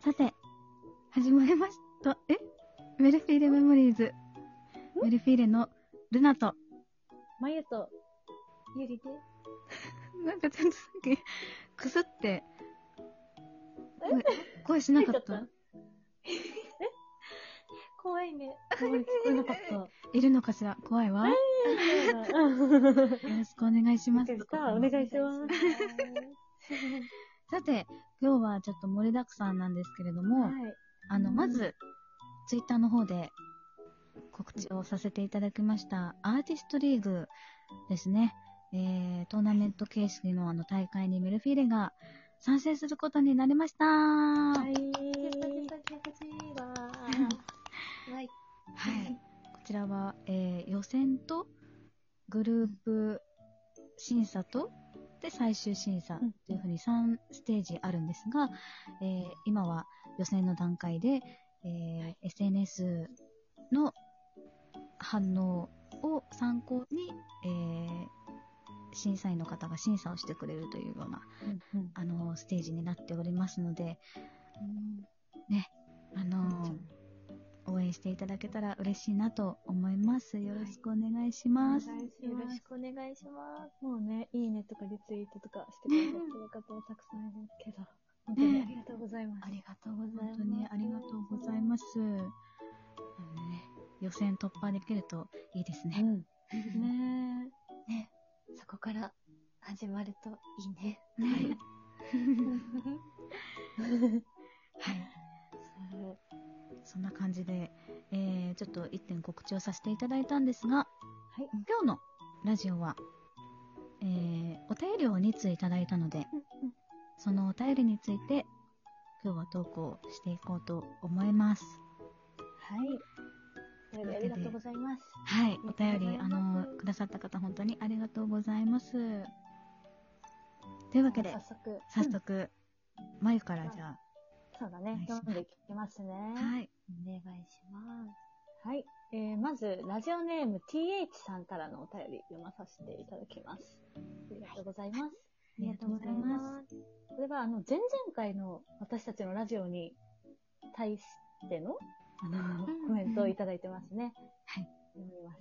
さて、始まりました。メルフィーレメモリーズ。メルフィーレのルナと、 まゆと、ゆりで。 なんかちょっとさっき、くすって、声しなかった怖いね。怖い、聞こえなかった。 いるのかしら怖いわ。よろしくお願いします。 お願いします。 さて、今日はちょっと盛りだくさんなんですけれども、 はい、 まず、ツイッターの方で告知をさせていただきました、アーティストリーグですね。トーナメント形式の大会にメルフィーレが参戦することになりました。 はい。 はい。こちらは、予選とグループ審査とで最終審査というふうに3ステージあるんですが、今は予選の段階で、SNS の反応を参考に、審査員の方が審査をしてくれるというような、ステージになっておりますので、ね、応援していただけたら嬉しいなと思います。よろしくお願いします。 よろしくお願いします。もうね、いいねとかリツイートとかしてくださってる方もたくさんいるけど、本当にありがとうございます。 ありがとうございます。本当にありがとうございます。予選突破できるといいですね。 ね、そこから始まるといいね。 はい。そんな感じで、ちょっと1点告知をさせていただいたんですが、今日のラジオは、お便りを2通いただいたので、そのお便りについて今日は投稿していこうと思います。 はい。ありがとうございます。 はい。お便りくださった方本当にありがとうございます。というわけで早速、まゆからじゃあ。 そうだね。読んでいきますね。 はい。 お願いします。はい。まず、ラジオネーム TH さんからのお便り読まさせていただきます。ありがとうございます。 ありがとうございます。 これは、前々回の私たちのラジオに対しての、コメントをいただいてますね。 はい。 読みます。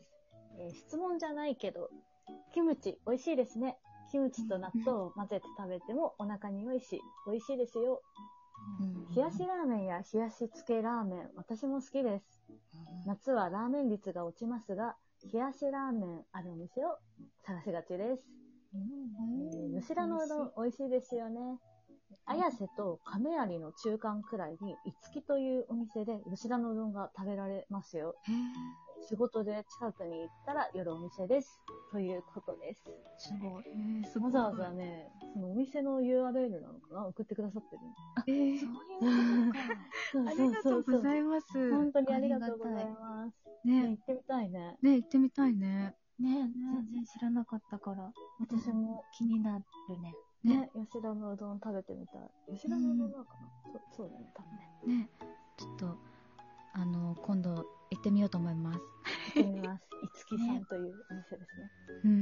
質問じゃないけど、キムチ美味しいですね。キムチと納豆を混ぜて食べてもお腹に良いし、美味しいですよ。冷やしラーメンや冷やし漬けラーメン、私も好きです。夏はラーメン率が落ちますが、冷やしラーメンあるお店を探しがちです。吉田のうどん美味しいですよね。綾瀬と亀有の中間くらいに、いつきというお店で吉田のうどんが食べられますよ。仕事で近くに行ったら寄るお店です。ということです。 すごい。 わざわざね、そのお店の URL なのかな送ってくださってる。 そういうことか。ありがとうございます。 本当にありがとうございます。ね、行ってみたいね。 ね、行ってみたいね。 ね、全然知らなかったから、私も気になるね。ね、吉田のうどん食べてみたい。吉田のうどんなのかな、そうだね、多分ね。 ね、ちょっと、今度行ってみようと思います。 行ってみます。いつきさんというお店ですね。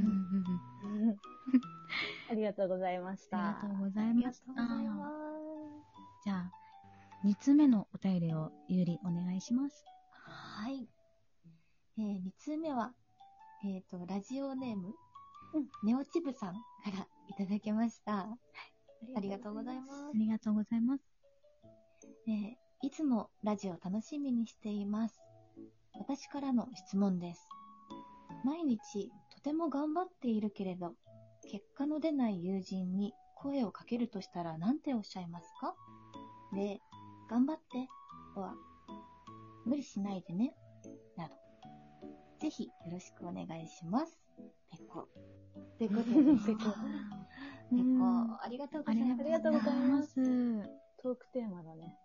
ありがとうございました。 ありがとうございました。じゃあ、2つ目のお便りをゆりお願いします。 はい。2通目は、ラジオネーム、ネオチブさんからいただきました。ありがとうございます。 ありがとうございます。 いつもラジオ楽しみにしています。私からの質問です。毎日とても頑張っているけれど、結果の出ない友人に声をかけるとしたら何ておっしゃいますか？で、頑張っては無理しないでね、など。ぜひよろしくお願いします。ペコ。 ペコです。 ペコ。ありがとうございます。 ありがとうございます。トークテーマだね。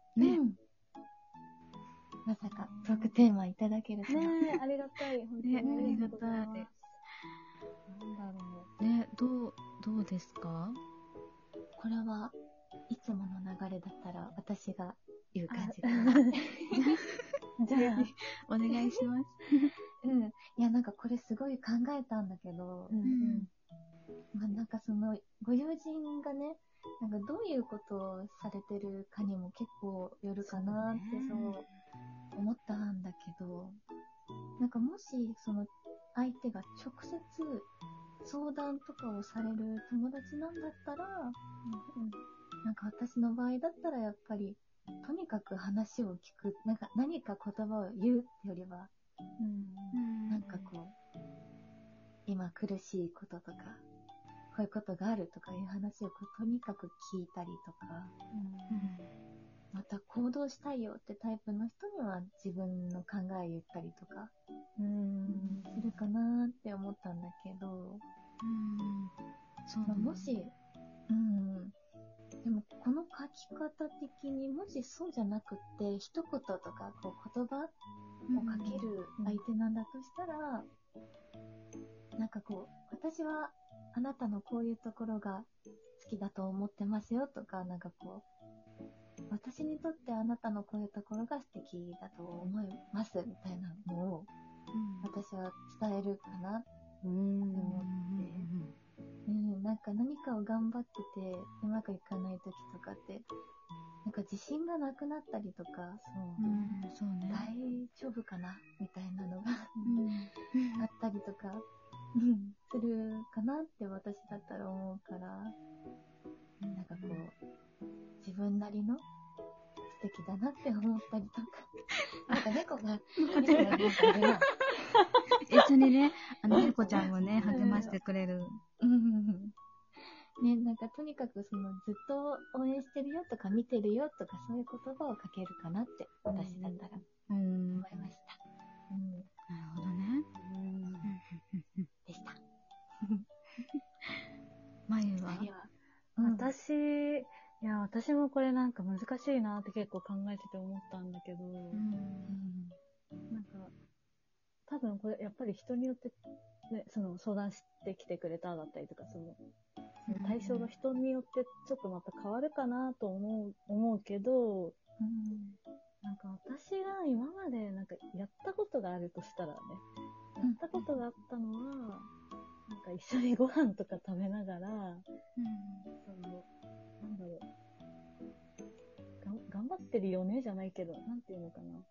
まさかトークテーマいただけるとは。 ね、ありがたい。本当にありがとうございます。なんだろう。ね、どうですか？ これはいつもの流れだったら私が言う感じかな。 じゃあ、お願いします。 いや、なんかこれすごい考えたんだけど、 まあ、なんかその、ご友人がね、なんかどういうことをされてるかにも結構よるかなってそう思ったんだけど、なんかもしその相手が直接相談とかをされる友達なんだったら、なんか私の場合だったらやっぱりとにかく話を聞く、なんか何か言葉を言うってよりは、なんかこう今苦しいこととかこういうことがあるとかいう話をこうとにかく聞いたりとか、また行動したいよってタイプの人には自分の考え言ったりとかするかなって思ったんだけど、 そうだね。 もし、でもこの書き方的にもしそうじゃなくって一言とかこう言葉をかける相手なんだとしたら、なんかこう私はあなたのこういうところが好きだと思ってますよとか、なんかこう私にとってあなたのこういうところが素敵だと思いますみたいなのを私は伝えるかなって思って、なんか何かを頑張っててうまくいかない時とかってなんか自信がなくなったりとか、 そうね、 大丈夫かなみたいなのがあったりとかするかなって私だったら思うから、なんかこう自分なりの素敵だなって思ったりとかなんか猫がなんかいるな一緒にね、猫ちゃんもね、励ましてくれる。 ね、なんかとにかくそのずっと応援してるよとか見てるよとかそういう言葉をかけるかなって私だったら思いました。 なるほどね。 でした。 まゆは、 私もこれなんか難しいなって結構考えてて思ったんだけど、なんか多分これやっぱり人によってね、その相談してきてくれただったりとか、その対象の人によってちょっとまた変わるかなと思うけど、なんか私が今までなんかやったことがあるとしたらね、やったことがあったのは、なんか一緒にご飯とか食べながら、そのなんだろう、頑張ってるよねじゃないけど、なんていうのかな、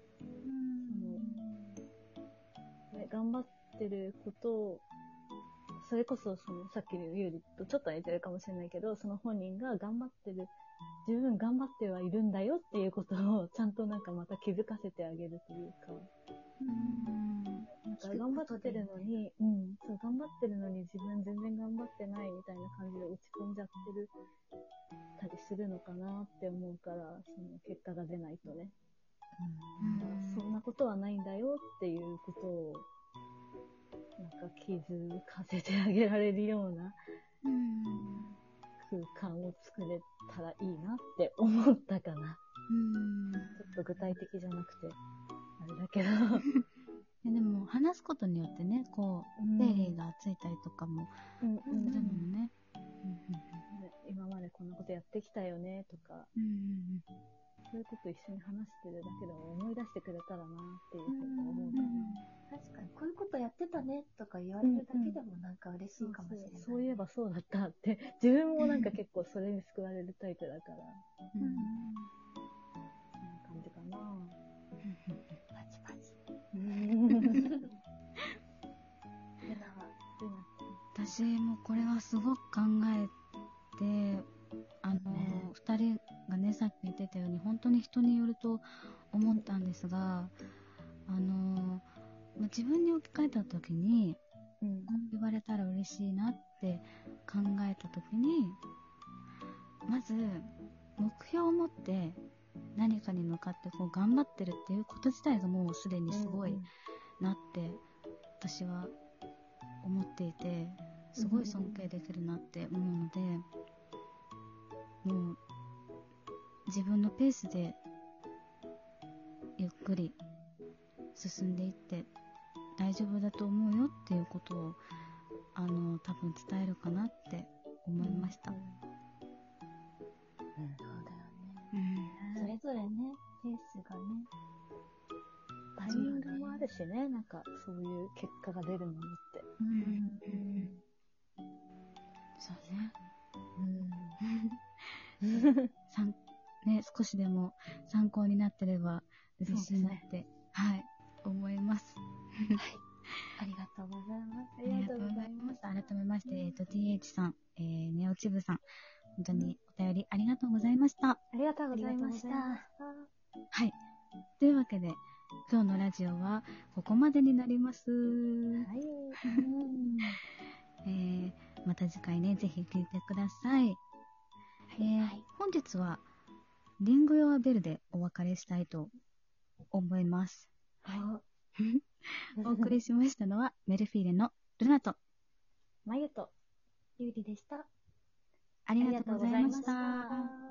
頑張ってることを、それこそそのさっきのゆうりとちょっと似てるかもしれないけど、その本人が頑張ってる、十分頑張ってはいるんだよっていうことをちゃんとなんかまた気づかせてあげるというか、なんか頑張ってるのに、そう頑張ってるのに自分全然頑張ってないみたいな感じで落ち込んじゃってるたりするのかなって思うから、その結果が出ないとね、そんなことはないんだよっていうことをなんか気づかせてあげられるような空間を作れたらいいなって思ったかな。ちょっと具体的じゃなくてあれだけどでも話すことによってね、こう整理がついたりとかもするもんね。 今までこんなことやってきたよねとか、そういうこと一緒に話してるだけでも思い出してくれたらなっていうふうに思うかな。 確かにこういうことやってたねとか言われるだけでもなんか嬉しいかもしれない。 そういえばそうだったって自分もなんか結構それに救われるタイプだから、そんな感じかな。 パチパチ。 私もこれはすごく考えて、2人がねさっき言ってたように本当に人によると思ったんですが、自分に置き換えた時に、こう言われたら嬉しいなって考えた時に、まず目標を持って何かに向かってこう頑張ってるっていうこと自体がもうすでにすごいなって私は思っていて、すごい尊敬できるなって思うので、もう自分のペースでゆっくり進んでいって大丈夫だと思うよっていうことを多分伝えるかなって思いました。 そうだよね。それぞれね、ペースがね、 タイミングもあるしね、なんかそういう結果が出るものって。 そうね。少しでも参考になってれば嬉しいなって、はい、思います。 はい。ありがとうございます。 ありがとうございます。改めまして、TH さん、ネオチブさん、本当にお便りありがとうございました。 ありがとうございました。 はい。というわけで、今日のラジオはここまでになります。はい。また次回ね、ぜひ聞いてください。本日は、リンゴヨアベルでお別れしたいと思います。はい。お送りしましたのは、メルフィーレのルナと、 マユと、ユーリでした。 ありがとうございました。